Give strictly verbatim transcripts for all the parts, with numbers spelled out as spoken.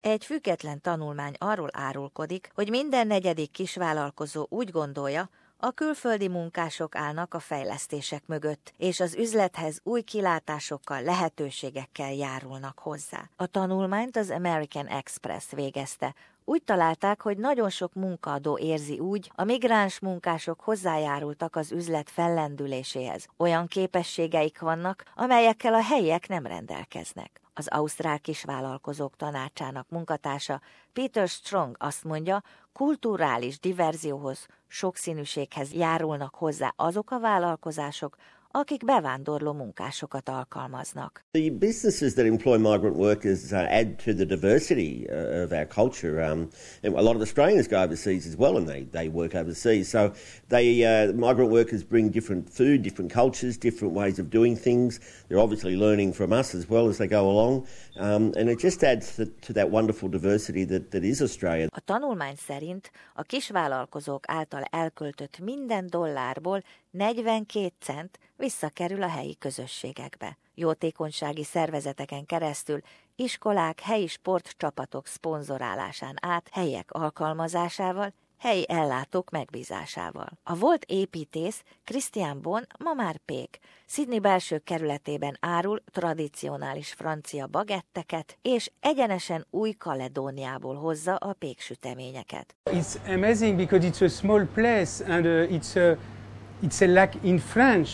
Egy független tanulmány arról árulkodik, hogy minden negyedik kisvállalkozó úgy gondolja, a külföldi munkások állnak a fejlesztések mögött, és az üzlethez új kilátásokkal, lehetőségekkel járulnak hozzá. A tanulmányt az American Express végezte. Úgy találták, hogy nagyon sok munkaadó érzi úgy, a migráns munkások hozzájárultak az üzlet fellendüléséhez. Olyan képességeik vannak, amelyekkel a helyiek nem rendelkeznek. Az ausztrál kisvállalkozók tanácsának munkatársa Peter Strong azt mondja, kulturális diverzióhoz, sokszínűséghez járulnak hozzá azok a vállalkozások, akik bevándorló munkásokat alkalmaznak. The businesses that employ migrant workers uh, add to the diversity uh, of our culture. Um, and a lot of Australians go overseas as well, and they, they work overseas. So they uh, migrant workers bring different food, different cultures, different ways of doing things. They're obviously learning from us as well as they go along. Um, and it just adds to, to that wonderful diversity that, that is Australia. A tanulmány szerint a kisvállalkozók által elköltött minden dollárból negyvenkét cent visszakerül a helyi közösségekbe. Jótékonysági szervezeteken keresztül, iskolák, helyi sportcsapatok szponzorálásán át, helyiek alkalmazásával, helyi ellátók megbízásával. A volt építész Christian Bon ma már pék. Sydney belső kerületében árul tradicionális francia bagetteket, és egyenesen Új-Kaledóniából hozza a péksüteményeket. It's amazing because it's a small place and uh, it's a it's a lack in French.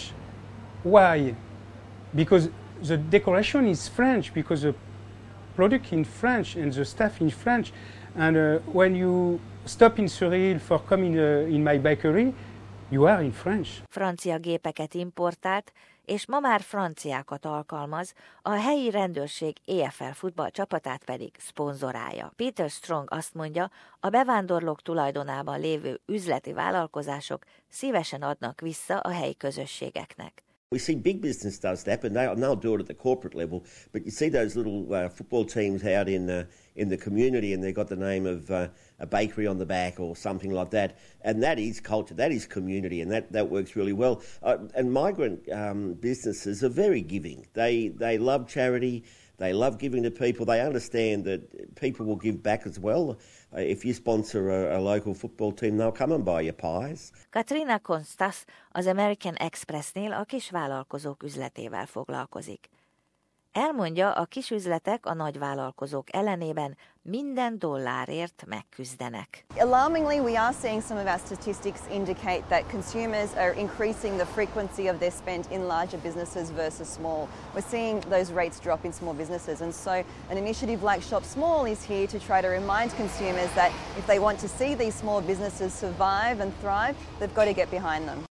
Why? Because the decoration is French, because the product in French and the staff in French. And uh, when you stop in Surrey for coming uh, in my bakery, you are in French. Francia gépeket importált, és ma már franciákat alkalmaz, a helyi rendőrség é ef el futballcsapatát pedig szponzorálja. Peter Strong azt mondja, a bevándorlók tulajdonában lévő üzleti vállalkozások szívesen adnak vissza a helyi közösségeknek. We see big business does that, but they, they'll do it at the corporate level. But you see those little uh, football teams out in uh, in the community, and they've got the name of uh, a bakery on the back or something like that. And that is culture, that is community, and that, that works really well. Uh, and migrant um, businesses are very giving. They they love charity. They love giving to people. They understand that people will give back as well. Uh, if you sponsor a, a local football team, they'll come and buy your pies. Katrina Konstas az American Expressnél a kisvállalkozók üzletével foglalkozik. Elmondja, a kisüzletek a nagyvállalkozók ellenében minden dollárért megküzdenek. Alarmingly, we are seeing some of our statistics indicate that consumers are increasing the frequency of their spend in larger businesses versus small. We're seeing those rates drop in small businesses, and so an initiative like Shop Small is here to try to remind consumers that if they want to see these small businesses survive and thrive, they've got to get behind them.